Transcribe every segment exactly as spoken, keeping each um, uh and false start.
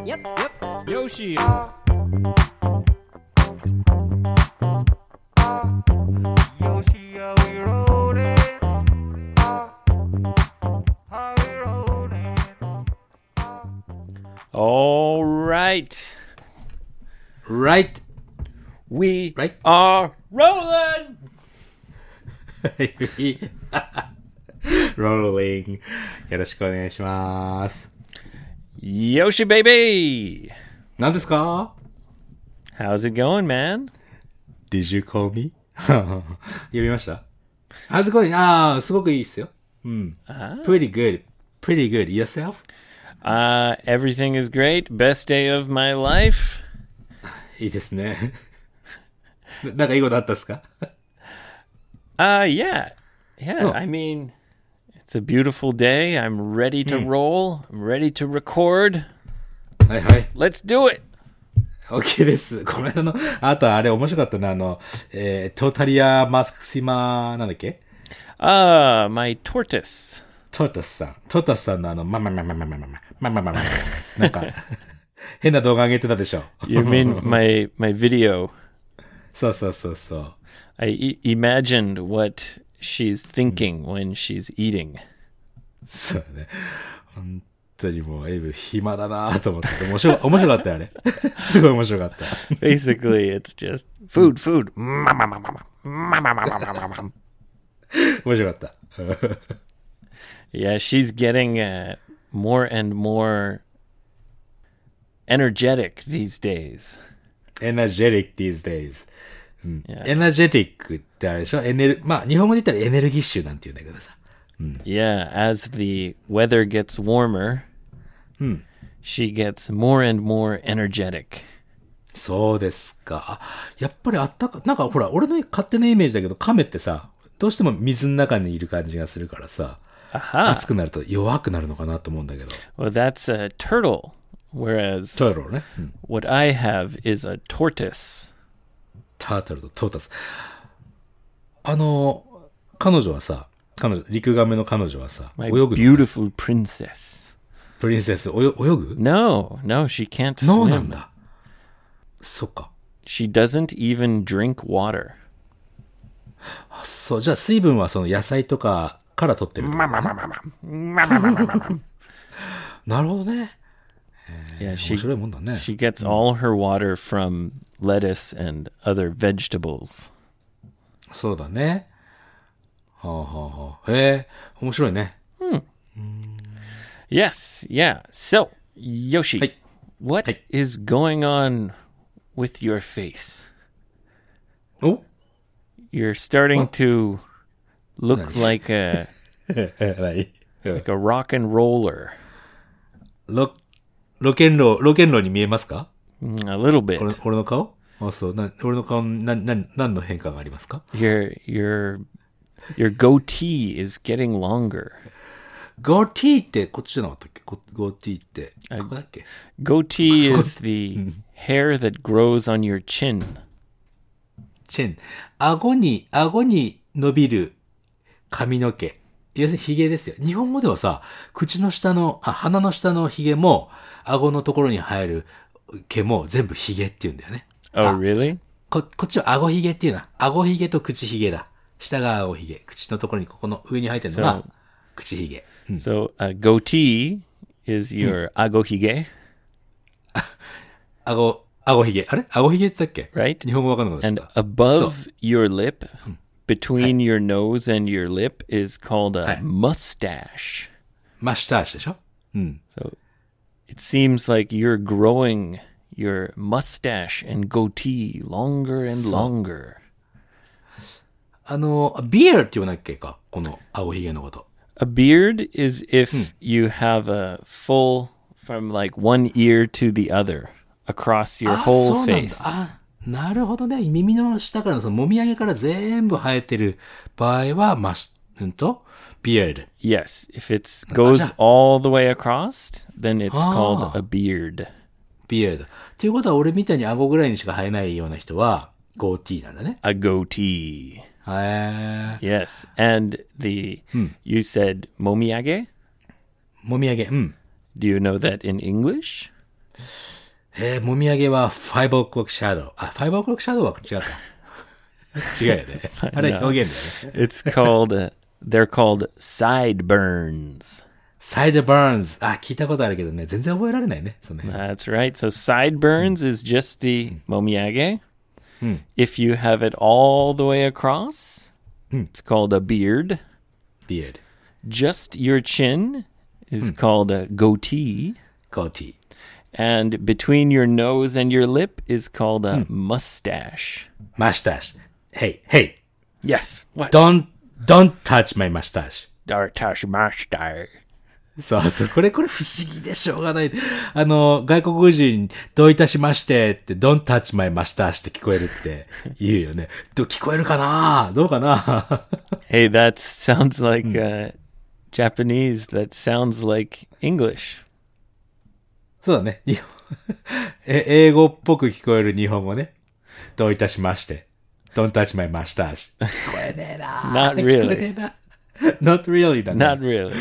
Yep, yep. Yoshi. Yoshi, are we rolling? Are we rolling? All right. Right. We Right. are rolling. Rolling. よろしくお願いします。 Yoshi baby. 何ですか？ How's it going, man? Did you call me? 読みました？ How's it going? ああ、すごくいいっすよ。うん。Pretty good. Pretty good. Yourself? Uh, everything is great. Best day of my life. いいですね。ななんかいいことあったっすか？ Uh, yeah. Yeah, Oh. I mean, it's a beautiful day. I'm ready to roll. I'm ready to record. はいはい。 Let's do it. OK です。この間の、あとあれ面白かったな、あの、えー、トータリアマクシマ、なんだっけ？ Ah, my tortoise. トータスさん。トータスさんのあの、ままままままままままままなんか、変な動画上げてたでしょ。 You mean my my video? そうそうそうそう。 I e- imagined what she's thinking when she's eating. そうね。本当にもう、エイブ暇だなと思ってて、面白、面白かったよ、あれ。すごい面白かった。 Basically, it's just food, food. 面白かった。 Yeah, she's getting uh, more and more energetic these days. energetic these days. うん。 Yeah. energetic ってあれでしょ？エネル、まあ、日本語で言ったらエネルギッシュなんて言うんだけどさ。 Yeah, as the weather gets warmer, she gets more and more energetic. そうですか。やっぱりあったか、なんかほら、俺の勝手なイメージだけど、亀ってさ、どうしても水の中にいる感じがするからさ、 Aha. 暑くなると弱くなるのかなと思うんだけど。 Well, that's a turtle, whereas トートルね。うん。 what I have is a tortoise. タートルとトータス。あの、彼女はさ、彼女、陸亀の彼女はさ、 My 泳ぐの？ beautiful princess. プリンセス、泳、泳ぐ？ No, no, she can't ノーなん swim. だ。そっか。 She doesn't even drink water. あ、そう、じゃあ水分はその野菜とかから取ってるってことね。なるほどね。 Yeah, 面 she 白いもんだね。 she gets all her water from lettuce and other vegetables. そうだね。はあはあはあ。へえ、面白いね。 Yes, yeah. So, Yoshi, Hey. what Hey. is going on with your face? お You're starting What? to look like a 何？ like a rock and roller. ロ、ロケンロー、ロケンローに見えますか？ Mm, a little bit. 俺俺の顔？あ、そう。な俺の顔に何、何、何の変化がありますか？ Your your your goatee is getting longer. ゴーティーってこっちじゃなかったっけ？ゴゴーティーって。ここだっけ？ Goatee is the hair that grows on your chin. チェン。顎に、顎に伸びる髪の毛。要するに髭ですよ。日本語ではさ、口の下の、あ、鼻の下の髭も、顎のところに生える毛も全部髭って言うんだよね。 Oh, あ really? こ、こっちは顎髭っていうな。顎髭と口髭だ。下が顎髭。口のところにここの上に生えてるのが So- 口髭。 So, a goatee is your agohige, 顎、顎髭。あれ顎髭って言ったっけ？ right? 日本語わかんなかった And でした。 above your lip, between your nose and your lip, is called a Hi. mustache. マスターシュでしょ？うん。 So it seems like you're growing your mustache and goatee longer and longer. あの、ビアーって言わなきゃいけか？この顎髭のこと。 A beard is if you have a full, from like one ear to the other, across your あ、 whole そうなんだ。 face. あ、なるほどね。耳の下からのそのもみあげから全部生えてる場合は、マス、うんと、ビアード。 Yes, if it goes Gotcha. all the way across, then it's called Ah. a beard. ビアード。ということは、俺みたいに顎ぐらいにしか生えないような人は、ゴーティーなんだね。 A goatee. へー。 Yes, and the you said momiage. もみあげ。うん。 Do you know that in English? えー、もみあげは five o'clock shadow。あ、five o'clock shadow は違うか。違うよね。あれ表現だよね。 It's called, uh, they're called sideburns. sideburns。あ、聞いたことあるけどね、全然覚えられないね。その辺 That's right. So sideburns is just the momiage. If you have it all the way across, it's called a beard. beard。 Just your chin is called a goatee. goatee。 And between your nose and your lip is called a mustache. mustache。Hey, hey, Yes. What? don't, don't touch my mustache. Dartash mustache. そうそう、これこれ不思議でしょうがない。あの、外国人、どういたしましてって、don't touch my mustache って聞こえるって言うよね。ど聞こえるかなどうかな Hey, that sounds like uh, Japanese. That sounds like English. そうだね。日本え英語っぽく聞こえる日本語ね。どういたしまして。don't touch my mustache. 聞こえねえな Not 聞こえ really. ねえな Not really だね。 Not really.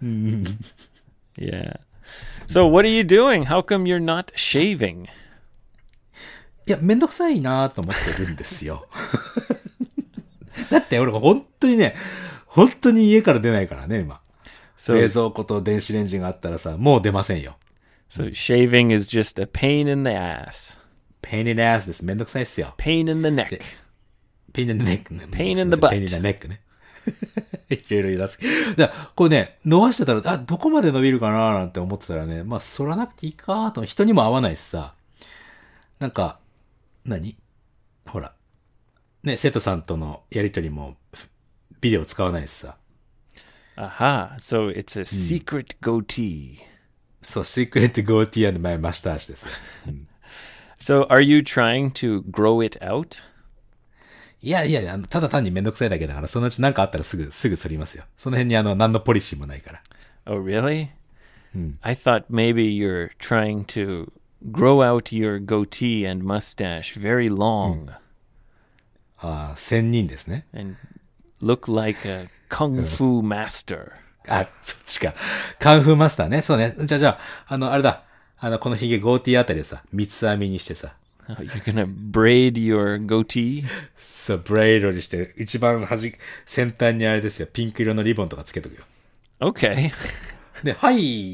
Yeah. So what are you doing? How come you're not shaving? いや、めんどくさいなと思ってるんですよ。だって俺本当にね、本当に家から出ないからね、今。 So, 冷蔵庫と電子レンジがあったらさ、もう出ませんよ。 so shaving is just a pain in the ass. pain in the ass です。めんどくさいっすよ。 Pain in the neck. pain in the neck ね。 Pain in the butt. pain in the neck ね。いろいろ言い出す。だからこうね、伸ばしてたら、あ、どこまで伸びるかななんて思ってたらね、まあ、反らなくていいかと。人にも合わないしさ。なんか、何ほら。ね、生徒さんとのやりとりも、ビデオ使わないしさ。 Aha. So it's a secret goatee. そう、secret goatee and my mustache ですよ。 So are you trying to grow it out? いやいや、あのただ単にめんどくさいだけだから、そのうち何かあったらすぐ、すぐ反りますよ。その辺にあの、何のポリシーもないから。 Oh, really? I thought maybe you're trying to grow out your goatee and mustache very long ああ、千人ですね。 and look like a kung fu master. あ、そっちか。カンフーマスターね。そうね。じゃあじゃあ、あの、あれだ。あの、このヒゲ、ゴーティーあたりをさ、三つ編みにしてさ、 Oh, you're gonna braid your goatee? そう、ブレイドにして、一番端、先端にあれですよ、ピンク色のリボンとかつけとくよ。 Okay. で、はい、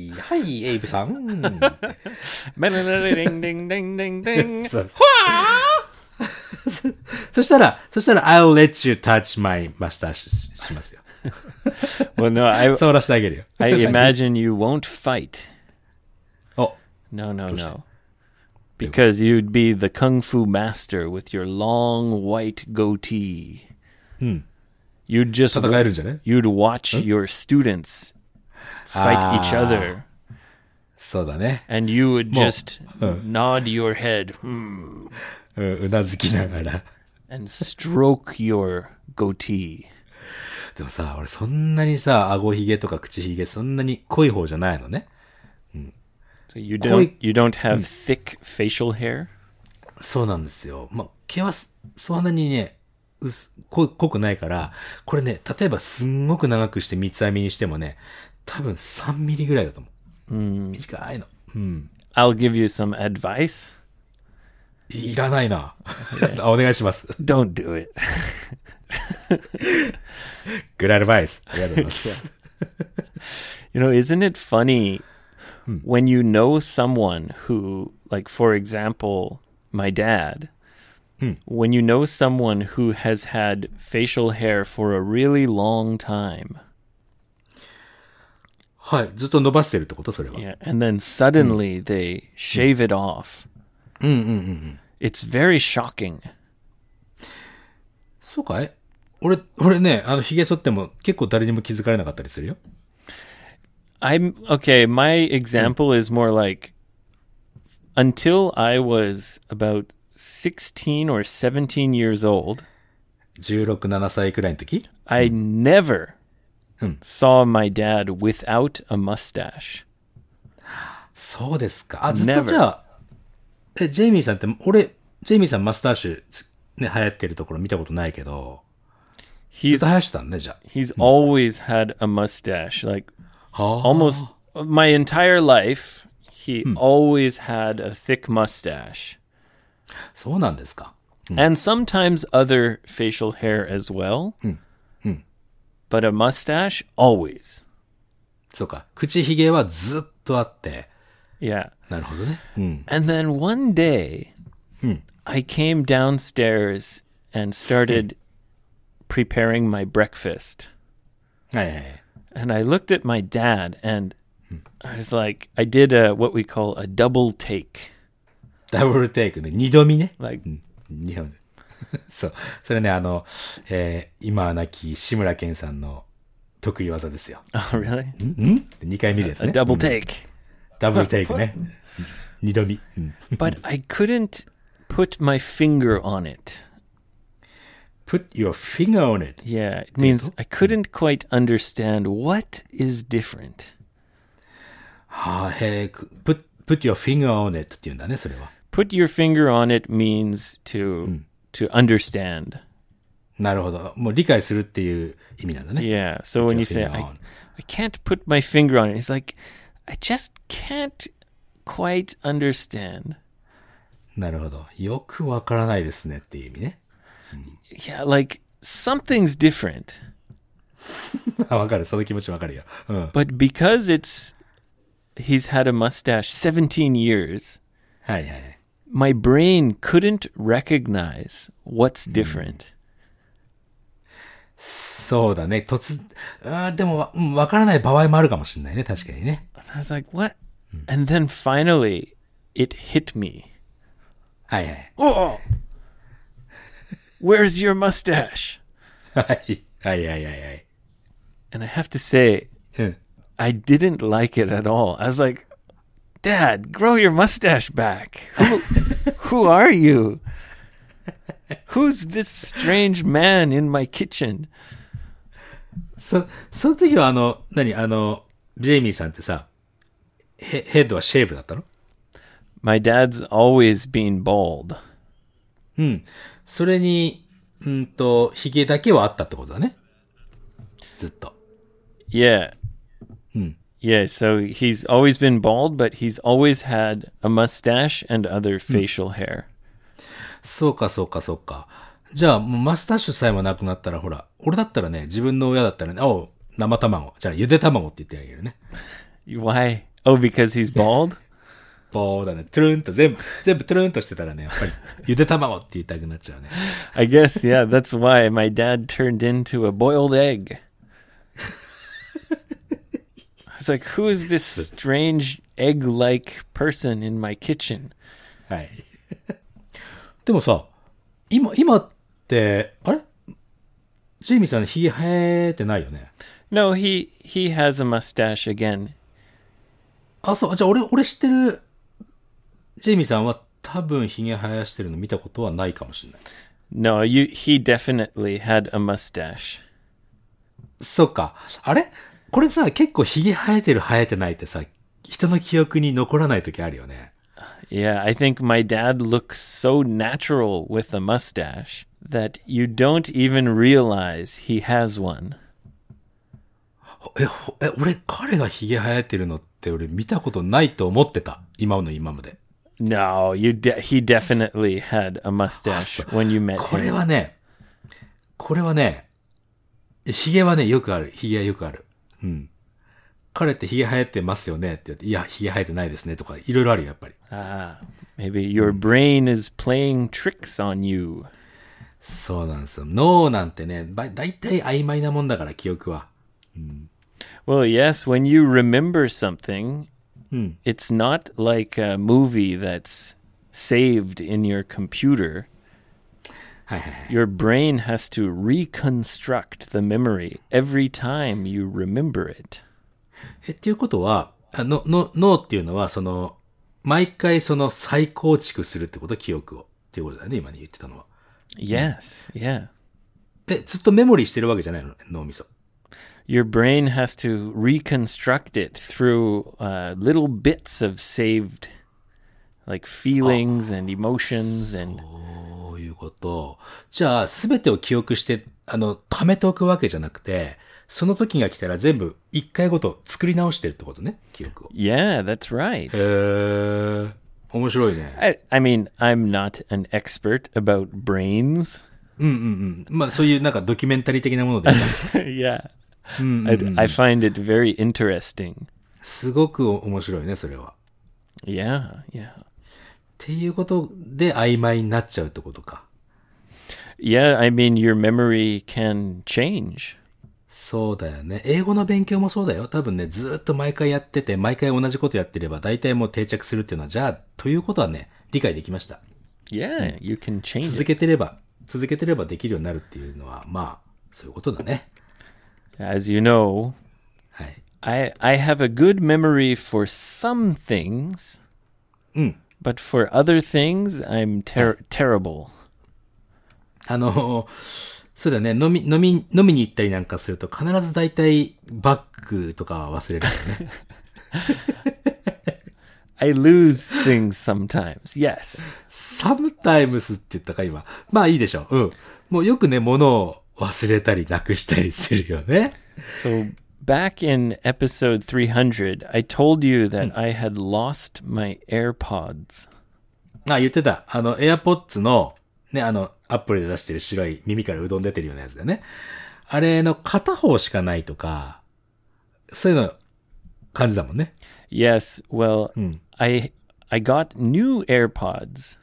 はい、エイブさん。 Ding, ding, ding, ding, ding. そうそそしたら、そしたら、I'll let you touch my mustache ししますよ。 Well, no, I 触らせてあげるよ。 I imagine you won't fight. お、 No, no, no. Because you'd be the kung fu master with your long white goatee. You'd just 戦えるんじゃね you'd watch your students fight each other, そうだね。 and you would Mo- just nod your head hmm, うん、うなずきながら。 and stroke your goatee. でもさ、俺そんなにさ、顎ひげとか口ひげそんなに濃い方じゃないのね。 So you don't you don't have thick facial hair? そうなんですよ。まあ、毛はそそんなにね、薄濃濃くないから、これね、例えばすんごく長くして三つ編みにしてもね、多分さんミリぐらいだと思う。短いの。うん。 I'll give you some advice. いらないな。あお願いします。 Don't do it. Good advice. ありがとうございます。 You know, isn't it funny when you know someone who, like, for example, my dad, when you know someone who has had facial hair for a really long time, はい。ずっと伸ばしてるってことそれは。 yeah, and then suddenly they shave it off. It's very shocking. そうかい俺、俺ね、あの、髭剃っても結構誰にも気づかれなかったりするよ。 I'm okay. My example is more like until I was about sixteen or seventeen years old, じゅうろく、ななさいくらいの時 I never saw my dad without a mustache. そうですか。あ、ずっと Never. じゃあ、え、ジェイミーさんって、俺、ジェイミーさんマスターシュつ、ね、流行ってるところ見たことないけど、ずっ He's と生やしてたんね、じゃ he's always had a mustache. Like あ。はあ。 almost my entire life, he always had a thick mustache. そうなんですか。 And sometimes other facial hair as well. But a mustache, always. そうか。口ひげはずっとあって。 Yeah. なるほどね。うん。 And then one day, I came downstairs and started preparing my breakfast. はいはいはい。 And I looked at my dad and I was like, I did a, what we call a double take. ダブルテイクね。二度見ね。 Like, 日本で。そう。それね、あの、えー、今は亡き志村けんさんの得意技ですよ。 oh, really? ん二回見るやつ A ね。 double take. ダブルテイクね。二度見。うん But I couldn't put my finger on it. Put your finger on it. Yeah, it means I couldn't quite understand what is different. はあ、へえ、put, put your finger on it って言うんだね、それは。 Put your finger on it means to to understand. なるほど。もう理解するっていう意味なんだね。 Yeah. So when your you say finger I, on. I can't put my finger on it, it's like I just can't quite understand. なるほど。よくわからないですねっていう意味ね。 Yeah, like something's different. わかる。その気持ちわかるよ。うん。 But because it's he's had a mustache seventeen years, はいはいはい。 my brain couldn't recognize what's different. そうだね。突、あーでもわ、うんわからない場合もあるかもしれないね。確かにね。 And I was like, what? And then finally it hit me. はいはい。 Oh! Where's your mustache? はい。はいはいはいはい。 And I have to say, うん。 I didn't like it at all. I was like, Dad, grow your mustache back. Who, who are you? Who's this strange man in my kitchen? そ、その時はあの、何あの、ジェイミーさんってさ、ヘ、ヘッドはシェーブだったの？ My dad's always been bald. うん。それに、うんと、髭だけはあったってことだね。ずっと。 Yeah. Yeah, so he's always been bald, but he's always had a mustache and other facial hair. そうかそうかそうか。じゃあ、もうマスタッシュさえもなくなったら、ほら、俺だったらね、自分の親だったらね、おう、生卵。じゃあ、ゆで卵って言ってあげるね。 Why? Oh, because he's bald? ボーだね。トゥルンと全部、全部トゥルンとしてたらね、やっぱり、ゆで卵って言いたくなっちゃうね。 I guess, yeah, that's why my dad turned into a boiled egg. I was like, who is this strange egg-like person in my kitchen? はい。でもさ、今、今って、あれジェイミーさんの髭生えてないよね。 No, he he has a mustache again. あ、そう、じゃあ俺、俺知ってる、ジェイミーさんは多分髭生やしてるの見たことはないかもしれない。 No, you he definitely had a mustache. そっか。あれこれさ、結構髭生えてる生えてないってさ、人の記憶に残らない時あるよね。 Yeah, I think my dad looks so natural with a mustache that you don't even realize he has one. え、ほえ、俺、彼が髭生えてるのって俺見たことないと思ってた。今の今まで。 No, you de- he definitely had a mustache when you met これ him. はね、これはね、髭はね、よくある。髭はよくある。うん。彼って髭生えてますよねって言って、いや、髭生えてないですねとか、いろいろあるよ、やっぱり。 Ah, maybe your brain is playing tricks on you. そうなんですよ。脳なんてね、ばだいたい曖昧なもんだから、記憶は。 Well, yes, when you remember something, it's not like a movie that's saved in your computer. はいはいはい。 Your brain has to reconstruct the memory every time you remember it. え、っていうことは、あの、の、脳っていうのは、その、毎回その再構築するってこと、記憶を。っていうことだよね、今に言ってたのは。 Yes, yeah. え、ずっとメモリーしてるわけじゃないの脳みそ。 Your brain has to reconstruct it through uh, little bits of saved, like feelings and emotions and そういうこと。じゃあ、すべてを記憶して、あの、貯めておくわけじゃなくて、 その時が来たら全部一回ごと作り直してるってことね、記憶を。 Yeah, that's right. へー。面白いね。 I, I mean, I'm not an expert about brains. うんうんうん。まあそういうなんかドキュメンタリー的なものでいいか。 Yeah. I, I find it very interesting. すごく面白いね、それは。 Yeah, yeah. っていうことで曖昧になっちゃうってことか。 Yeah, I mean, your memory can change. そうだよね。英語の勉強もそうだよ。多分ね、ずーっと毎回やってて、毎回同じことやってれば、大体もう定着するっていうのは、じゃあ、ということはね、理解できました。 Yeah, you can change 続 it. けてれば、続けてればできるようになるっていうのは、まあ、そういうことだね。 As you know, はい。 I, I have a good memory for some things, うん。 but for other things, I'm ter- terrible. あの、そうだね、飲み、飲み、飲みに行ったりなんかすると、必ず大体、バッグとかは忘れるよね。 I lose things sometimes. Yes. sometimes って言ったか、今。まあいいでしょう。うん。もうよくね、物を忘れたり、なくしたりするよね。 So back in episode three hundred, I told you that I had lost my AirPods. あ、言ってた。あの、AirPods の、ね、あの、アップルで出してる白い耳からうどん出てるようなやつだよね。あれの片方しかないとか、そういうの感じだもんね。 Yes, well, I I got new AirPods.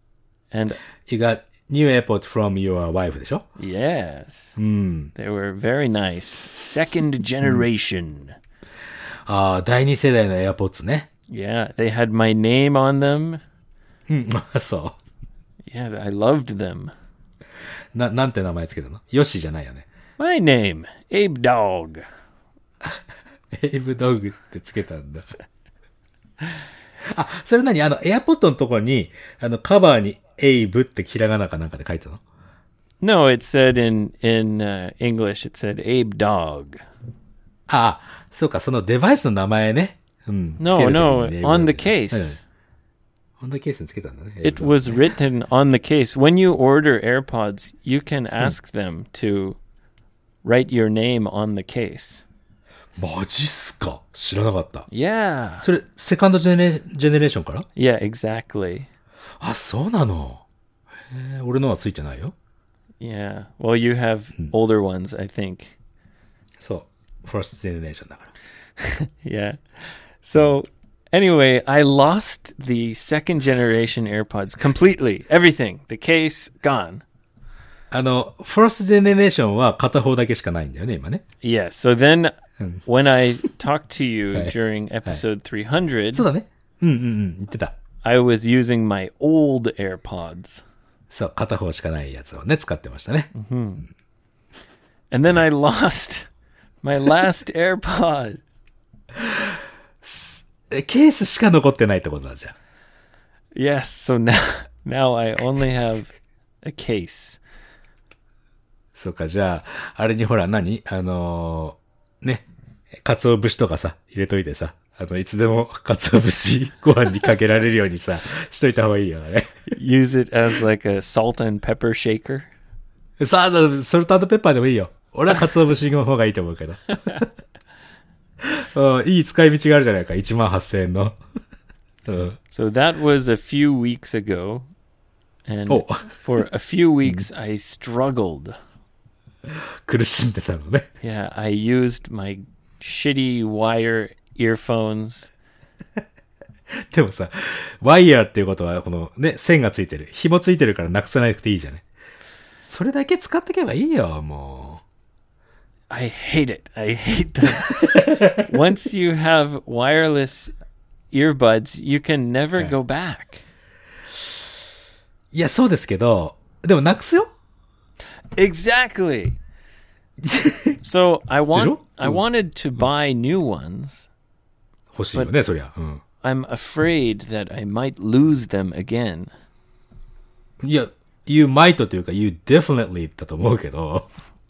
And You got new AirPods from your wife でしょ？ yes, うん。 they were very nice. Second generation. ああ、第二世代の AirPods ね。 Yeah, they had my name on them. うん、まあそ Yeah, I loved them. う。な、なんて名前つけたの？ヨッシーじゃないよね。 My name, Abe Dog. エイブドッグってつけたんだ。あ、それ何あの、AirPod のところに、あの、カバーにエイブってひらがなかなんかで書いたの？ No, it said in in uh, English. It said Abe Dog. ああ、そうか、そのデバイスの名前ね。うん。 No, つける時 no, にね on the うん case. オンダケースにつけたんだね。 It was written on the case. When you order AirPods, you can ask them to write your name on the case. マジっすか？知らなかった。 Yeah. それ、セカンドジェネジェネレーションから？ Yeah, exactly. あ、そうなの。へえ、俺のはついてないよ。 Yeah. Well, you have older ones, I think. そう。ファーストジェネレーションだから。 Yeah. So, anyway, I lost the second generation AirPods completely. Everything. The case, gone. あの、ファーストジェネレーションは片方だけしかないんだよね、今ね。 Yes. So then, when I talked to you Hey. during episode three hundred, そうだね。うんうんうん、言ってた。 I was using my old AirPods. そう、片方しかないやつをね、使ってましたね。 And then I lost my last AirPod. え、ケースしか残ってないってことだじゃん。 Yes. So now, now I only have a case. そうか、じゃあ、あれにほら何あのー、ね、鰹節とかさ、入れといてさ、あの、いつでも鰹節ご飯にかけられるようにさ、しといた方がいいよね。 Use it as like a salt and pepper shaker. さあ、ソルト&ペッパーでもいいよ。俺は鰹節の方がいいと思うけど。うんいい使い道があるじゃないか。いちまんはっせんえんの。うん So that was a few weeks ago. And Oh. for a few weeks, I struggled. 苦しんでたのね。 Yeah, I used my shitty wire earphones. でもさ、ワイヤーっていうことは、このね、線がついてる。紐ついてるからなくさなくていいじゃない。それだけ使ってけばいいよ、も I hate it. I hate them. Once you have wireless earbuds, you can never go back. う。いや、そうですけど、でもなくすよ。 Exactly. So I want you? I wanted to buy new ones. 欲しいよね、そりゃ。うん。 I'm afraid that I might lose them again. いや、you might というか、you definitely だと思うけど。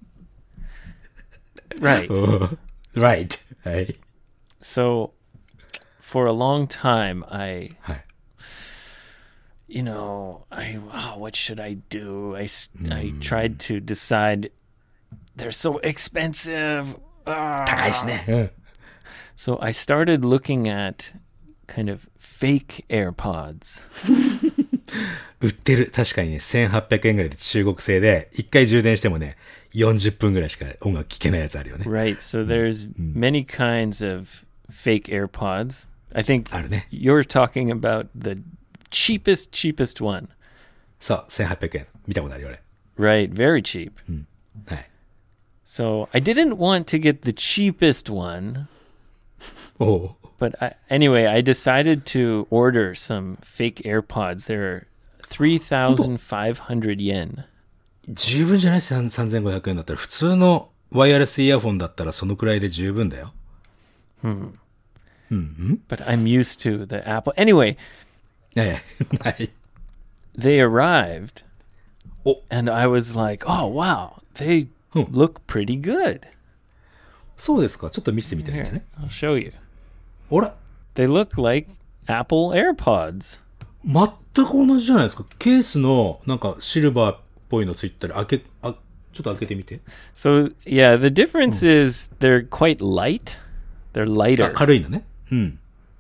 Right. うん right. はい。 So for a long time I はい。 you know, I oh, what should I do? I s- I tried to decide they're so expensive. Ah. 高いしね。うん。 So I started looking at kind of fake AirPods. 売ってる。確かにね、せんはっぴゃくえんぐらいで中国製で、一回充電してもね、よんじゅっぷんぐらいしか音楽聴けないやつあるよね。 Right. So there's many kinds of fake AirPods. I think あるね。 you're talking about the cheapest, cheapest one. そう、せんはっぴゃくえん。見たことあるよ、俺。 Right. Very cheap. はい。 So I didn't want to get the cheapest one. おお。 But I, anyway, I decided to order some fake AirPods. They're three thousand five hundred yen. 十分じゃない？ さんぜんごひゃくえんだったら、普通のワイヤレスイヤホンだったらそのくらいで十分だよ。 But I'm used to the Apple. Anyway, ええ、はい。 they arrived. Oh. And I was like, oh, wow, they Hmm. look pretty good. そうですか。ちょっと見せてみてもいいんじゃ Here, ない？ I'll show you. ほら。 They look like Apple AirPods. 全く同じじゃないですか。ケースのなんかシルバーっぽいのついてたり、開け、あ、ちょっと開けてみて。 So, yeah, the difference is they're quite light. They're あ、 lighter. 軽いのね。うん。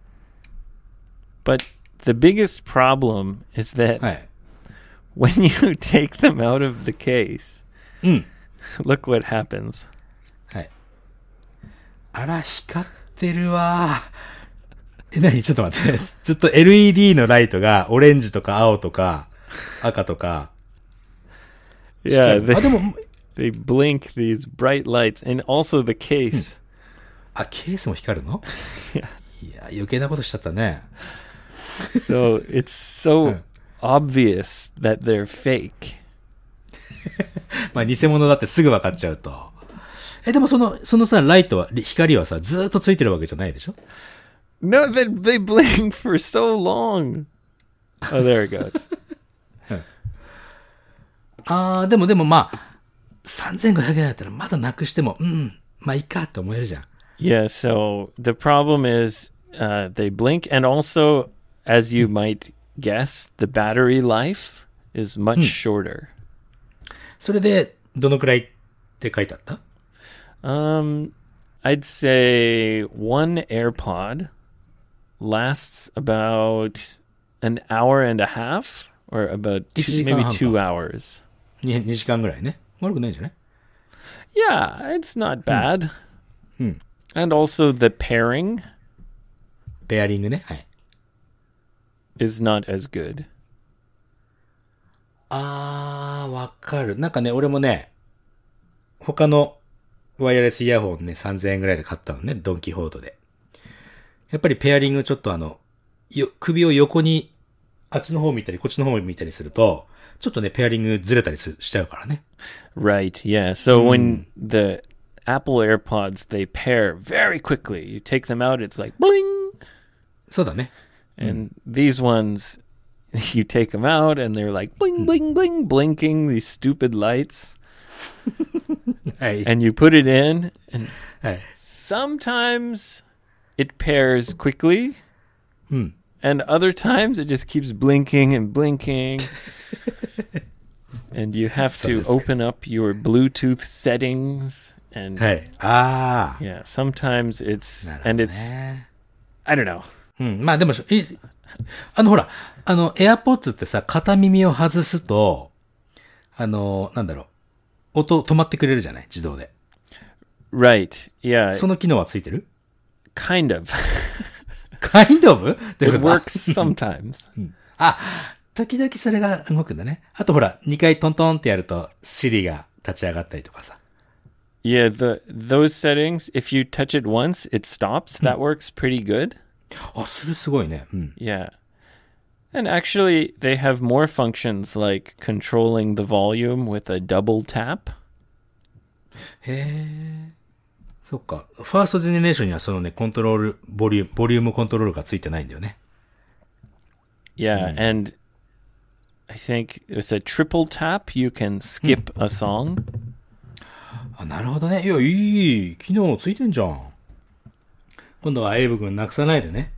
But the biggest problem is that はい。 when you take them out of the case, うん。 look what happens. はい。あら、光ってるわ。え、なに？ちょっと待って。ずっと エルイーディー のライトがオレンジとか青とか赤とか。 Yeah, あ、 they, でも、 they blink these bright lights. And also the case. あ、ケースも光るの？いや、余計なことしちゃったね。 So it's so obvious that they're fake. まあ、偽物だってすぐ分かっちゃうと。え、でもその、そのさ、ライトは、光はさ、ずーっとついてるわけじゃないでしょ？ No, they, they blink for so long. Oh, there it goes. あー、でもでもまあ、さんぜんごひゃくえんだったらまだなくしても、うん、まあいいかって思えるじゃん。 Yeah, so the problem is uh, they blink. And also, as you might guess, the battery life is much shorter. それで、どのくらいって書いてあった？ Um, I'd say one AirPod lasts about an hour and a half, or about two, maybe two hours. に, に時間ぐらいね。悪くないんじゃない？ Yeah, it's not bad. And also the pairing ペアリングね。はい。 is not as good. あー、わかる。なんかね、俺もね、他のワイヤレスイヤホンね、さんぜんえんぐらいで買ったのね、ドンキホートで。やっぱりペアリングちょっとあの、よ、首を横に、あっちの方見たり、こっちの方見たりすると、ちょっとね、ペアリングずれたりすしちゃうからね。 Right, yeah. So when the Apple AirPods, they pair very quickly. You take them out, it's like bling. そうだね。 And these ones, you take them out and they're like bling, bling, bling, blinking these stupid lights. はい。 And you put it in, and はい。 sometimes it pairs quickly. And other times it just keeps blinking and blinking. And you have to open up your Bluetooth settings. And はい。あー。 yeah, sometimes it's, なるほど and it's, ね。 I don't know. うん。まあでも、いあのほら、あの、AirPods ってさ、片耳を外すと、あの、なんだろう、音止まってくれるじゃない？自動で。 Right. Yeah, その機能はついてる？ kind of. kind of? It works sometimes. あ、時々それが動くんだね。あとほら、にかいトントンってやると、Siri が立ち上がったりとかさ。 Yeah, the those settings, if you touch it once, it stops. That works pretty good. あ、それすごいね。うん。 Yeah. And actually, they have more functions like controlling the volume with a double tap. へえ。そっか。ファーストジェネレーションにはそのね、コントロール、ボリューム、ボリュームコントロールがついてないんだよね。 Yeah, and I think with a triple tap, you can skip a song. あ、なるほどね。いや、いい。機能ついてんじゃん。今度はエイブ君なくさないでね。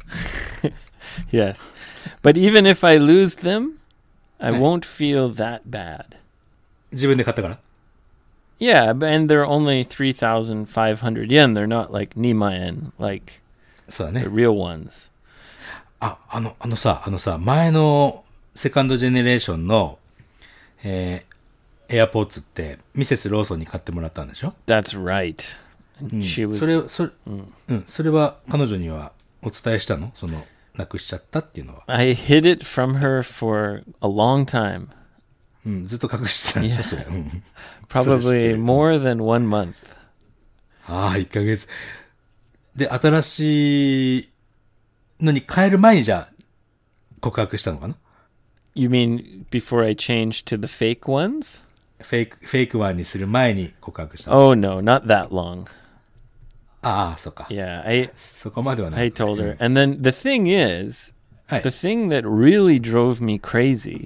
Yes. But even if I lose them, I won't feel that bad. 自分で買ったから。 Yeah, but- and they're only three thousand five hundred yen. They're not like nimaen, like そうだ the ね。 real ones. あ、あの、あのさ、あのさ、前のセカンドジェネレーションの、えー、エアポーツってミセスローソンに買ってもらったんでしょ？ That's right. And うん。 she was それ、それ、うん、それは彼女にはお伝えしたの？その、なくしちゃったっていうのは。 I hid it from her for a long time. うん、ずっと隠してたんでしょ、それ。うん。それ知って Probably る more than one month. ああ、いっかげつ。で、新しいのに変える前にじゃあ、告白したのかな？ You mean before I changed to the fake ones? フェイク、フェイクワンにする前に告白したの。 Oh no, not that long. ああ、そっか。 Yeah, I そこまではない。 I told her. And then the thing is, はい the thing that really drove me crazy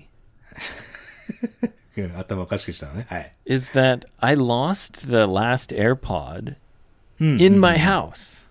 うん頭おかしくしたのね。はい。 is that I lost the last AirPod in my house.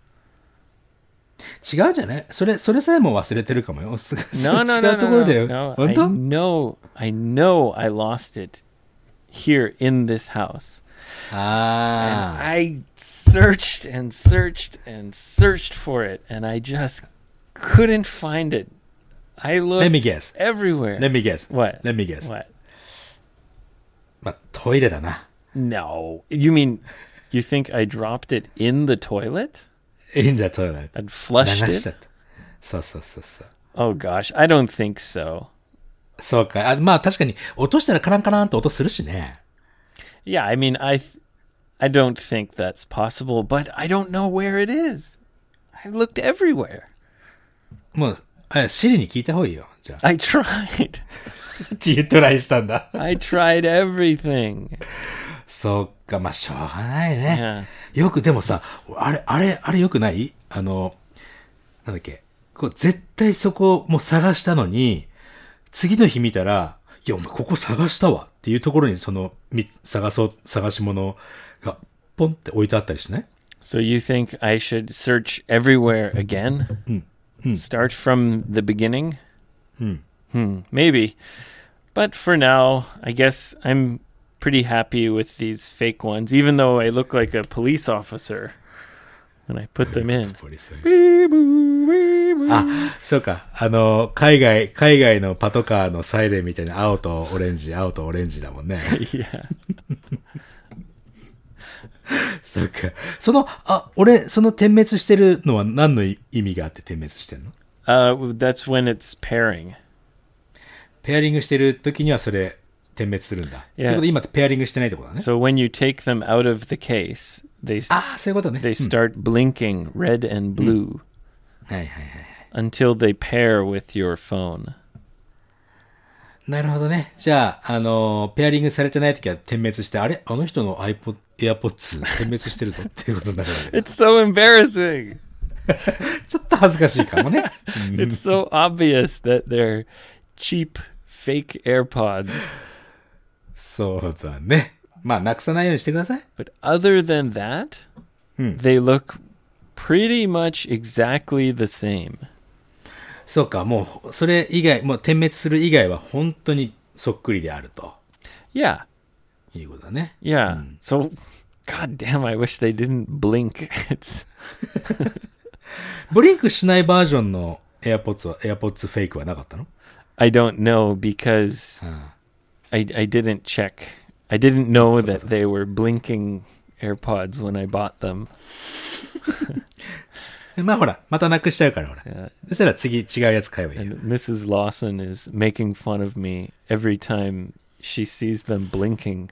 違うじゃない？それ、それさえも忘れてるかもよ。そ No, そ no, 違 no, うところ no, だよ。 no. 本 I 当？ know, I know I lost it here in this house. ああ。 I searched and searched and searched for it, and I just couldn't find it. I Let me looked guess. everywhere. Let me guess. What? Let me guess. What? まあ、トイレだな。 No. You mean you think I dropped it in the toilet いいんだ、トイレ。 and 流 flushed しちゃ it? った。そうそうそうそう。 Oh gosh, I don't think so. そうか。あ、まあ確かに、落としたらカランカランと音するしね。 Yeah, I mean, I, th- I don't think that's possible, but I don't know where it is. I looked everywhere. もう、あシリに聞いた方がいいよ。じゃあ。 I tried. チートライしたんだ。 I tried everything. そうか、まあしょうがないね。 Yeah. よく、でもさ、あれ、あれ、あれよくない？あの、なんだっけ。こう、絶対そこもう探したのに、次の日見たら、いや、お前ここ探したわっていうところにその、み探そう、探し物が、ポンって置いてあったりしない？ So you think I should search everywhere again? Start from the beginning? Hmm, maybe. But for now, I guess I'm pretty happy with these fake ones, even though I look like a police officer when I put them in. あ、そうか。あの、海外、海外のパトカーのサイレンみたいな青とオレンジ、青とオレンジだもんね。 Yeah. そうか。その、あ、俺、その点滅してるのは何の意味があって点滅してんの？ Uh, that's when it's pairing. ペアリングしてる時にはそれ、点滅するんだ。と Yeah. いうことで今ペアリングしてないってことだね。 So when you take them out of the case, they s- ああ、そういうことね。 they start blinking red and blue はいはいはい。 until they pair with your phone. なるほどね。じゃあ、あのー、ペアリングされてない時は点滅して、あれあの人の iPod、AirPods 点滅してるぞっていうことになるわけ。 It's so embarrassing. ちょっと恥ずかしいかもね。 It's so obvious that they're cheap fake AirPods. そうだね。まあ、なくさないようにしてください。 But other than that, they look pretty much exactly the same. そうか、もう、それ以外、もう点滅する以外は本当にそっくりであると Yeah. いうことだね。 Yeah. So, god damn, I wish they didn't blink. It's ブリンクしないバージョンの AirPods は、AirPods フェイクはなかったの？ I don't know because I I didn't check. I didn't know that they were blinking AirPods when I bought them. まあほら、またなくしちゃうからほら。 Yeah. そしたら次違うやつ買えばいいよ。 And Missus Lawson is making fun of me every time she sees them blinking.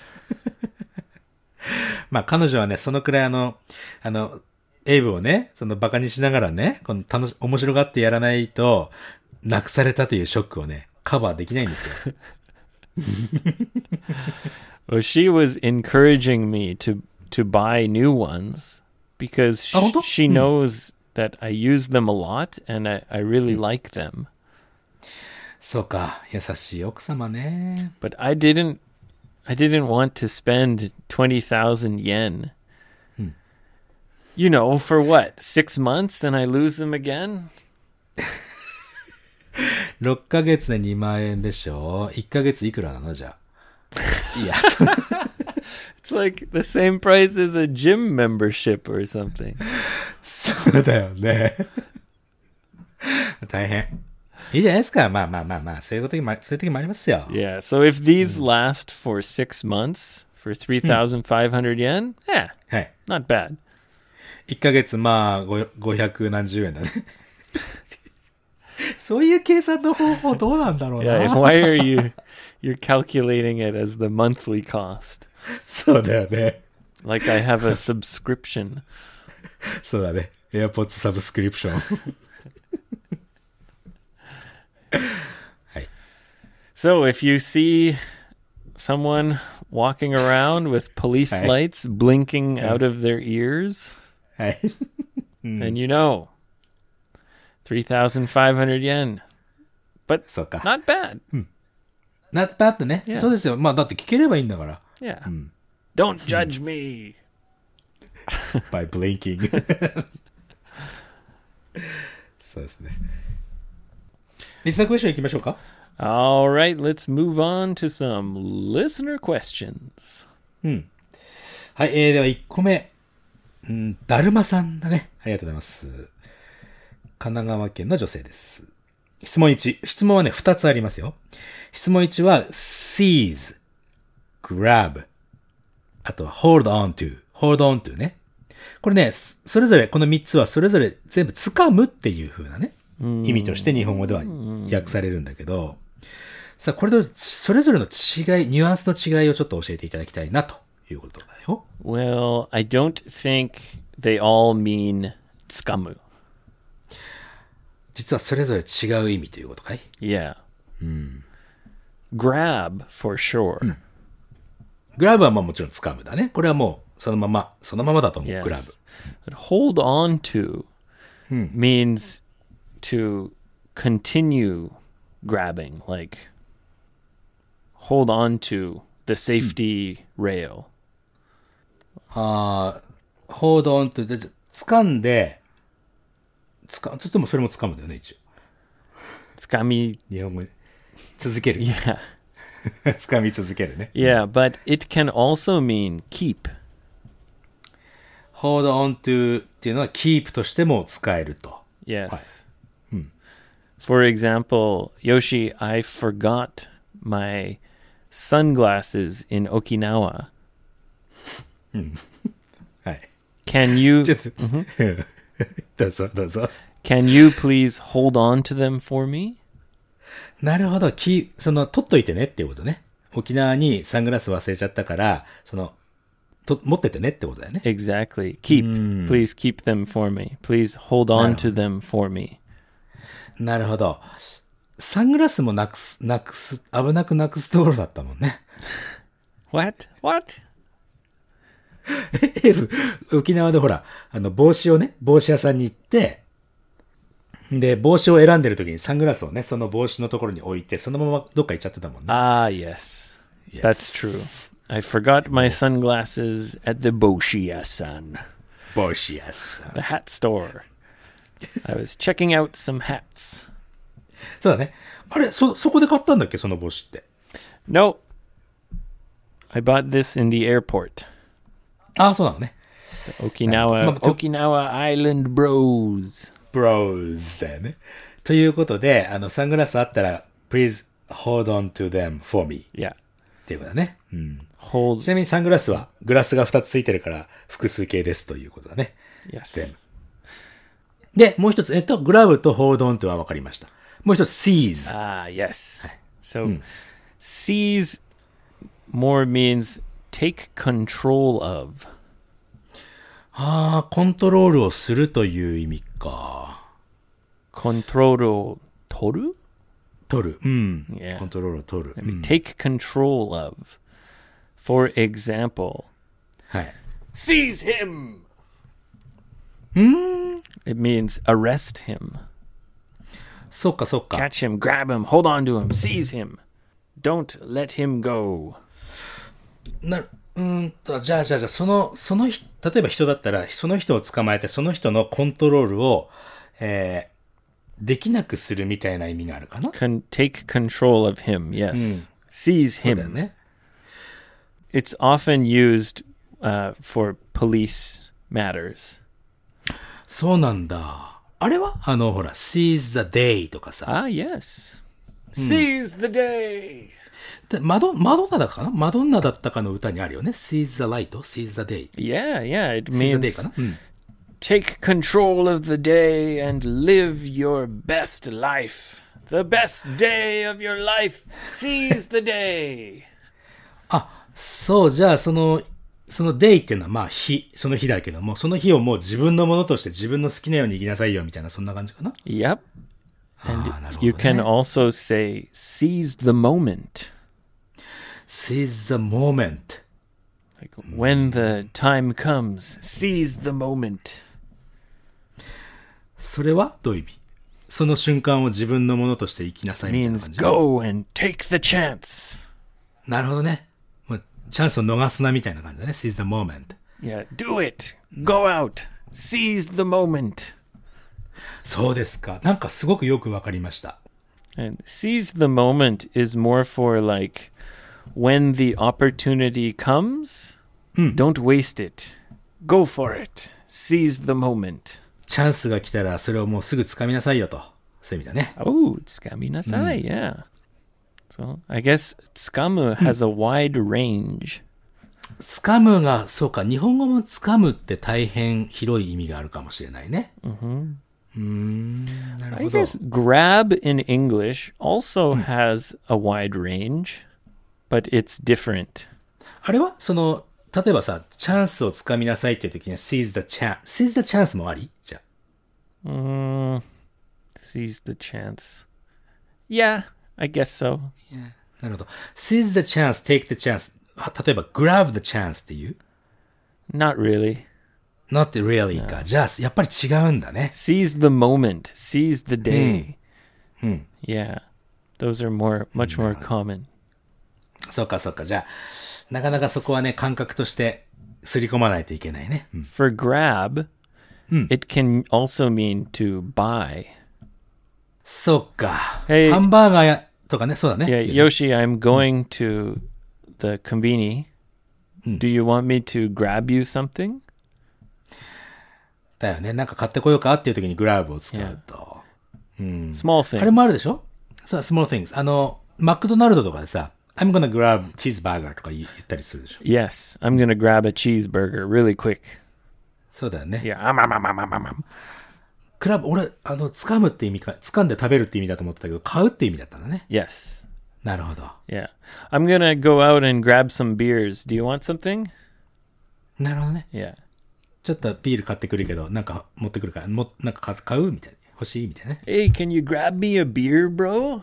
まあ彼女はね、そのくらいあの、あの、エイブをね、そのバカにしながらね、この楽し、面白がってやらないと、なくされたというショックをね、カバーできないんですよ。 Well, she was encouraging me to to buy new ones because sh- Oh, don't- she knows that I use them a lot and I, I really like them. そうか、優しい奥様ね。 But I didn't I didn't want to spend twenty thousand yen. You know, for what? Six months and I lose them again? ろっかげつでにまん円でしょ？ いっ ヶ月いくらなのじゃあ。いや、そ It's like the same price as a gym membership or something. そうだよね。大変。いいじゃないですか。まあまあまあまあ、そういう時も、そういう時もありますよ。 Yeah, so if these last for six months for three thousand five hundred yen, yeah, はい。 not bad. いっかげつ、まあ、ごごひゃく何十円だね。そういう計算の方法どうなんだろうな。 Yeah, why are you you're calculating it as the monthly cost? そうだよね。 Like I have a subscription. そうだね。AirPods サブスクリプション。はい。 So if you see someone walking around with police Hi. lights blinking out of their ears, はい。 then you know three thousand five hundred yen. But そうか。 not bad. なったってね。 Yeah. そうですよ。まあ、だって聞ければいいんだから。 Yeah. Don't judge me. by blinking. そうですね。リスナークエスチョン行きましょうか。 All right, let's move on to some listener questions. はい、えー、ではいっこめ。うん、だるまさんだね。ありがとうございます。神奈川県の女性です。質問いち。質問はね、ふたつありますよ。質問いちは seize, grab, あとは hold on to, hold on to ね。これね、それぞれ、このみっつはそれぞれ全部掴むっていう風なね、意味として日本語では訳されるんだけど、さあ、これとそれぞれの違い、ニュアンスの違いをちょっと教えていただきたいなということだよ。 Well, I don't think they all mean tsukamu. 実はそれぞれ違う意味ということかい？ Yeah. Grab, for sure. グラブはまあもちろん掴むだね。これはもうそのまま、そのままだと思う、 Yes. グラブ。 But hold on to means to continue grabbing, like hold on to the safety rail. ああ、hold on to で、掴んで、つか、とてもそれも掴むんだよね、一応。 Tsukami. 日本語に続ける。 Yeah. 掴み続けるね。 Yeah, but it can also mean keep. hold on to っていうのは keep としても使えると。 Yes. For example, Yoshi, I forgot my sunglasses in Okinawa. はい。 Can you ちょっと、どうぞ、どうぞ。 can you please hold on to them for me? なるほど。き、その、取っといてねっていうことね。沖縄にサングラス忘れちゃったから、その、と、持っててねってことだよね。 Exactly. Keep. Please keep them for me. Please hold on to them for me. なるほど。サングラスもなくす、なくす、危なくなくすところだったもんね。 What? What? エフ、沖縄でほら、あの、帽子をね、帽子屋さんに行って、で、帽子を選んでる時にサングラスをね、その帽子のところに置いて、そのままどっか行っちゃってたもんね。 Ah, yes. That's true. I forgot my sunglasses at the Boshiya-san, 帽子屋さん。 the hat store. I was checking out some hats. そうだね。あれ、そ、そこで買ったんだっけ、その帽子って。 No. I bought this in the airport. ああ、そうなのね。 Okinawa, Ma- to- Okinawa Island Bros. ブローズだよね。ということで、あの、サングラスあったら、please hold on to them for me. Yeah. っていうことだね。うん。ち Hold. なみにサングラスは、グラスがふたつついてるから、複数形ですということだね。 Yes. で、もう一つ、えっと、グラブと hold on to は分かりました。もう一つ、seize。 Ah, yes. So, seize more means take control of. ああ、コントロールをするという意味か。 Control toru? 取る。うん。 Yeah. コントロールを取る。うん Take control of. For example, はい。 seize him. It means arrest him. そうか、そうか。 Catch him, grab him, hold on to him, seize him. Don't let him go. なる、うーんと、じゃあ、じゃあ、じゃあ、その、その人、例えば人だったら、その人を捕まえて、その人のコントロールを、えー、できなくするみたいな意味があるかな。 Con- take control of him, yes. Seize そうだよ him. ね。 it's often used uh, for police matters. そうなんだ。あれはあの、ほら、seize the day とかさ。 Ah, yes. Seize the day. でマドマドンナだかなマドンナだったかの歌にあるよね。seize the light, seize the day. Yeah, yeah. It seize the day means かな、うん、 take control of the day and live your best life. The best day of your life. Seize the day. あ、そう、じゃあその、その day っていうのはまあ日、その日だけども、その日をもう自分のものとして自分の好きなように生きなさいよみたいな、そんな感じかな。 Yep. And あー、なるほどね。 you can also say seize the moment. seize the moment. Like when the time comes, seize the moment. それはどういう意味？その瞬間を自分のものとして生きなさいみたいな Means 感じ。 go and take the chance. なるほどね。もうチャンスを逃すなみたいな感じだね。seize the moment. Yeah, do it. Go out. Seize the moment. そうですか。なんかすごくよくわかりました。 And seize the moment is more for like when the opportunity comes, don't waste it. Go for it. Seize the moment. チャンスが来たらそれをもうすぐ掴みなさいよと。そういう意味だね。 Oh, tsukaminasai, yeah. So I guess tsukamu has a wide range. 掴むが、そうか、日本語も掴むって大変広い意味があるかもしれないね。うーん、なる I ほど。 guess grab in English also has a wide range, but it's different. あれはその、例えばさ、チャンスを掴みなさいっていう時には seize the chance。seize the chance もありじゃあ。 Mm, seize the chance. Yeah, I guess so. なるほど。seize the chance, take the chance。例えば grab the chance っていう Not really. not really か。じゃあ、やっぱり違うんだね。 Seize the moment. Seize the day. Yeah, those are more, much more common. そうか、そうか。じゃあ、なかなかそこはね、感覚としてすり込まないといけないね。うん、 For grab, it can also mean to buy. そうか。 Hey ハンバーガーやとかね、そうだね。 Yeah, Yoshi, I'm going to the conveni. Do you want me to grab you something? だよね。なんか買ってこようかっていう時にグラブを使うと。 Small あれもある things. でしょそう、small things。あの、マクドナルドとかでさ、I'm gonna grab cheeseburger とか言言ったりするでしょ。 Yes, I'm going to grab a cheeseburger really quick. そうだよね。 Yeah. Um, um, um, um, um, um. クラブ、俺、あの、掴むって意味か、掴んで食べるって意味だと思ってたけど、買うって意味だったんだね。 Yes. なるほど。 Yeah. I'm going to go out and grab some beers. Do you want something? なるほどね。 Yeah. ちょっとビール買ってくるけど、なんか持ってくるから、も、なんか買買うみたいな。欲しいみたいなね。 Hey, can you grab me a beer, bro?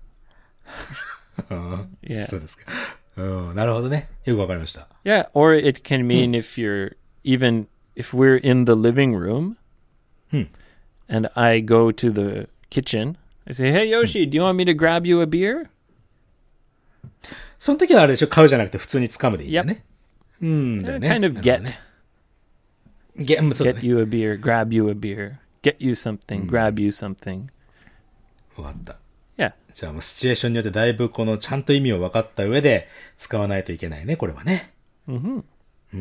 Yeah. そうですか。うん、なるほどね。よくわかりました。 Yeah, or it can mean if you're even if we're in the living room and I go to the kitchen, I say, "Hey Yoshi, do you want me to grab you a beer?" その時はあれでしょ、買うじゃなくて普通に掴むでいいんだよね。うん、だよね。 Kind of なるほど get ね。ゲうんそうだ get ね。 you a beer, grab you a beer, get you something, grab you something. わかった。 Yeah. じゃあもうシチュエーションによってだいぶこのちゃんと意味を分かった上で使わないといけないね、これはね。うん。うん。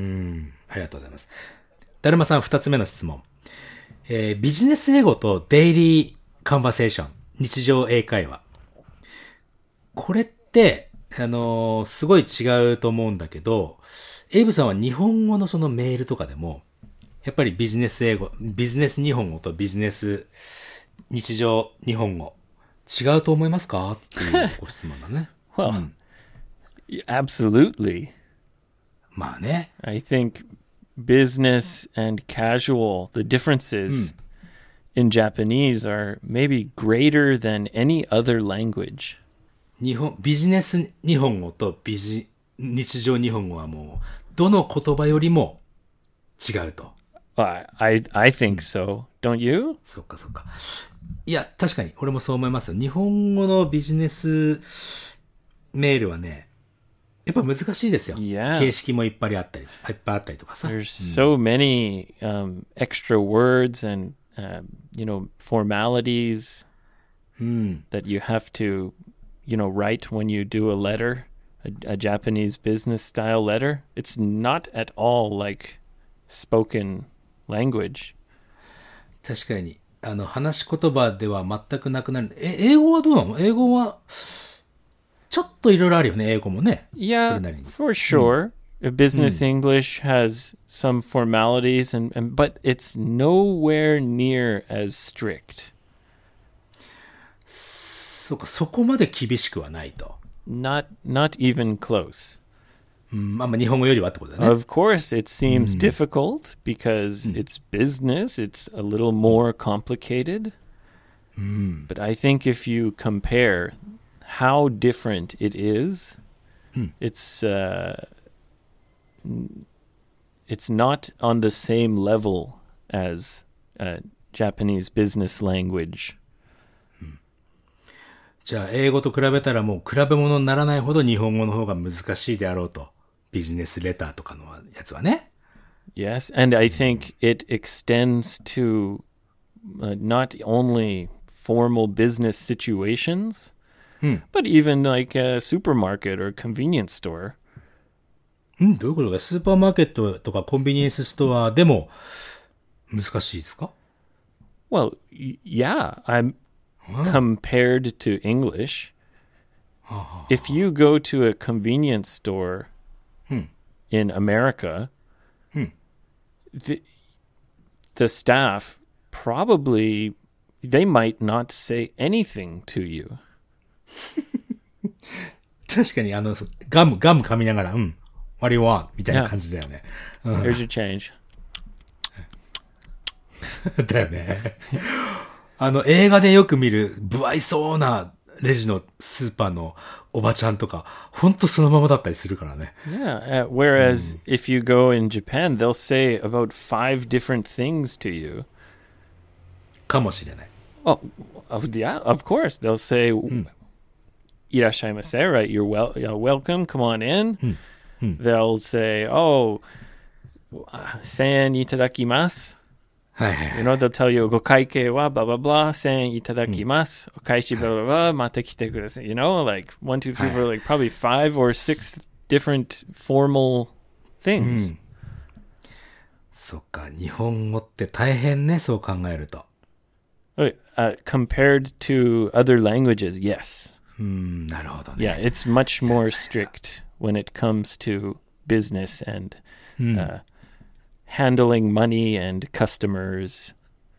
ありがとうございます。だるまさん二つ目の質問。えービジネス英語とデイリーカンバセーション、日常英会話。これって、あのーすごい違うと思うんだけど、エイブさんは日本語のそのメールとかでも、やっぱりビジネス英語、ビジネス日本語とビジネス日常日本語、違うと思いますかっていうご質問だね。 Well, y- absolutely. まあね。 I think business and casual, the differences in Japanese are maybe greater than any other language. 日本、ビジネス日本語とビジ、日常日本語はもう、どの言葉よりも違うと。 I I, I think so. Don't you? そっかそっか。いや、確かに、俺もそう思いますよ。日本語のビジネスメールはね、やっぱ難しいですよ。 Yeah. 形式もいっぱいあったり、いっぱいあったりとかさ。 There's so many um, extra words and uh, you know formalities that you have to you know write when you do a letter a, a Japanese business style letter. It's not at all like spoken language. 確かに、あの、話し言葉では全くなくなる。え、英語はどうなの？英語は、ちょっといろいろあるよね、英語もね。それ Yeah, なりに。 for sure. Uh, Business English has some formalities, and, and but it's nowhere near as strict. そうか、そこまで厳しくはないと。 Not not even close. うん、まあまあ日本語よりはってことだね。 Of course, it seems difficult because it's business. It's a little more complicated. But I think if you compare how different it is, it's uh, n- it's not on the same level as uh, Japanese business language. じゃあ、英語と比べたらもう比べ物にならないほど日本語の方が難しいであろうと。ビジネスレターとかのやつはね。 Yes, and I think it extends to uh, not only formal business situations, but even like a supermarket or convenience store. うん、どういうことか。スーパーマーケットとかコンビニエンスストアでも難しいですか？ Well, y- yeah, I'm compared to English. If you go to a convenience store in America, the, the staff probably they might not say anything to you. 確かにあの、ガム、ガム噛みながら、うん、what do you want? みたいな感じだよね。 Here's your change. だよね。あの、映画でよく見る、不愛想なレジのスーパーのおばちゃんとか、ほんとそのままだったりするからね。 Yeah. Uh, whereas if you go in Japan, they'll say about five different things to you. かもしれない。 Oh, oh yeah, of course. They'll say, "Irashaimase," right? You're well, you're welcome. Come on in. They'll say, "Oh, sen itadakimasu." はいはい。 You know, they'll tell you, "Gokaike wa blah blah blah, sen itadakimasu, okaishi blah blah blah, mata kite kudasai." You know, like one, two, three, four, like probably five or six different formal things. そっか、日本語って大変ね、そう考えると。 Uh, compared to other languages, yes. うん、なるほどね。 Yeah, it's much more strict when it comes to business and uh, handling money and customers.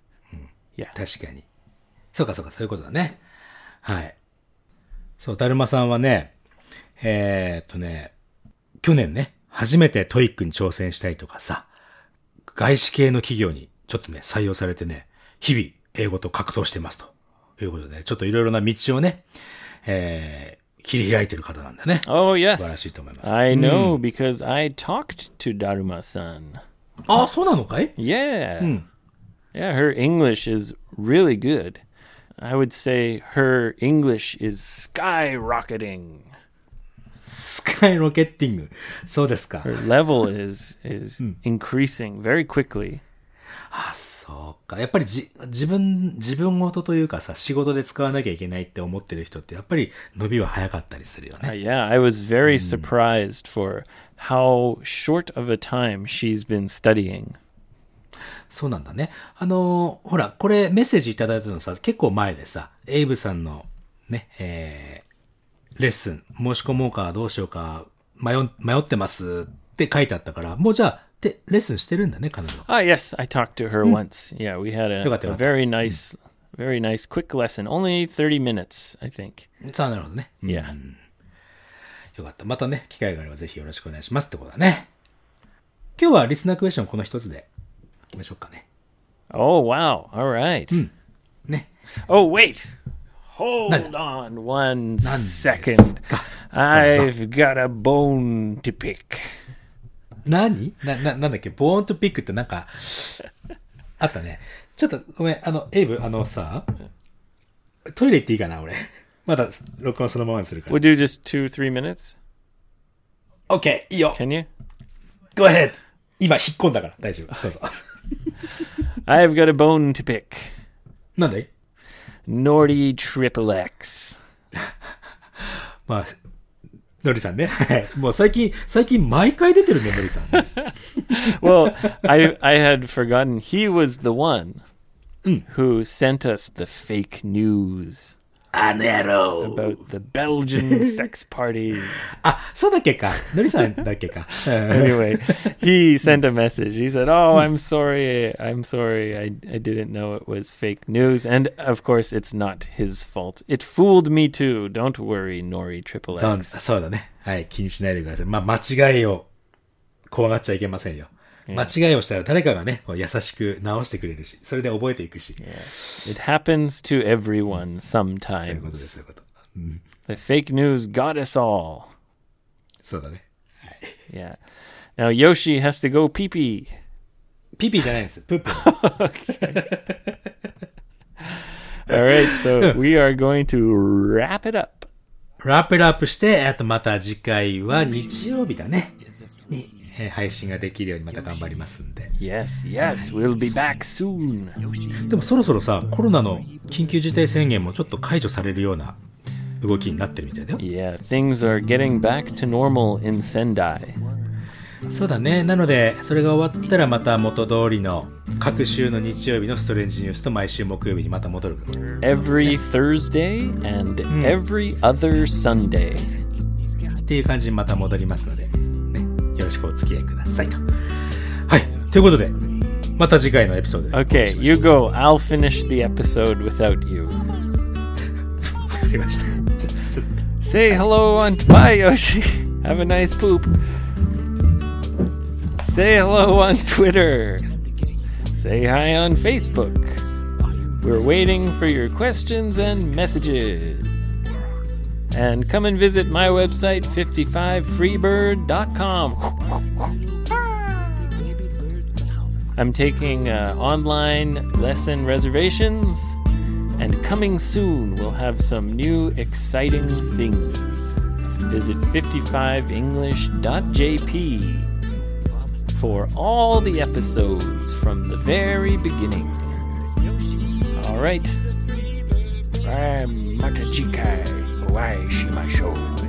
Yeah. 確かに。そうかそうか、そういうことだね。はい。そう、だるまさんはね、えー、っとね、去年ね、初めてトイックに挑戦したりとかさ、外資系の企業にちょっとね、採用されてね、日々英語と格闘してますということで、ちょっといろいろな道をね、えー、切り開いてる方なんだね。 Oh, yes. 素晴らしいと思います。 I know because I talked to Daruma-san. あ、そうなのかい？ Yeah. Yeah, her English is really good. I would say her English is skyrocketing. スカイロケッティング。そうですか。 Her level is is increasing very quickly. あ、そうか。やっぱりじ、自分、自分事というかさ、仕事で使わなきゃいけないって思ってる人ってやっぱり伸びは早かったりするよ Uh, ね。 yeah, I was very surprised for how short of a time she's been studying. そうなんだね。あのーほら、これメッセージいただいたのさ、結構前でさ、エイブさんのね、えー、レッスン、申し込もうかどうしようか、迷ん、迷ってますって書いてあったから、もうじゃあ、で、レッスンしてるんだね、彼女。 Ah, yes, I talked to her once. Yeah, we had a, よかったよかった a very nice, very nice quick lesson. Only thirty minutes, I think. さあ、なるほどね。 Yeah. よかった。またね、機会があればぜひよろしくお願いしますってことだね。今日はリスナークエスチョンこの一つで、行きましょうかね。 Oh, wow. All right. ね。 Oh, wait. Hold on one second. I've got a bone to pick. 何な、な、なんだっけボーンとピックってなんか、あったね。ちょっとごめん、あの、エイブ、あのさ、トイレ行っていいかな、俺。まだ、録音そのままにするから。 We'll do just two, three minutes. OK! いいよ Can you? Go ahead! 今、引っ込んだから、大丈夫。どうぞ。 I've got a bone to pick. なんで Nordy Triple X. まあ、 のりさんね。はい。もう最近、最近毎回出てるね、のりさん、ね。 Well, I I had forgotten he was the one who sent us the fake news あの野郎 about the Belgian sex parties. あ、そうだっけか。のりさんだっけか。 Anyway, he sent a message. He said, "Oh, I'm sorry. I'm sorry. I I didn't know it was fake news." And of course, it's not his fault. It fooled me too. Don't worry, Nori Triple どん X. そうだね。はい。気にしないでください。まあ、間違いを怖がっちゃいけませんよ。間違いをしたら誰かがね、こう優しく直してくれるし、それで覚えていくし。 Yeah. It happens to everyone そういうことです、 sometimes. そういうこと。うん、 The fake news got us all. そうだね。はい。 Yeah. Now Yoshi has to go pee pee. ピピじゃないんです。プップなんです。 All right, so we are going to wrap it up. ラップラップして、あとまた次回は日曜日だね。に、えー配信ができるようにまた頑張りますんで。 Yes, yes, we'll be back soon. でもそろそろさ、コロナの緊急事態宣言もちょっと解除されるような動きになってるみたいだよ。 Yeah, things are getting back to normal in Sendai. そうだね。なので、それが終わったらまた元通りの各週の日曜日のストレンジニュースと毎週木曜日にまた戻る。 Every Thursday and every other Sunday. っていう感じにまた戻りますので、ね、よろしくお付き合いくださいと。はい。ということで、また次回のエピソードでお会い Okay, しましょう。 you go. I'll finish the episode without you. わかりました。ちょちょっと Say hello on... Bye, Yoshi. Have a nice poop. Say hello on Twitter. Say hi on Facebook. We're waiting for your questions and messages. And come and visit my website, fifty-five freebird dot com. I'm taking uh, online lesson reservations, and coming soon we'll have some new exciting things. Visit fifty-five english dot j p for all the episodes from the very beginning. All right. Bye, Matachikai. Bye, Shimashou.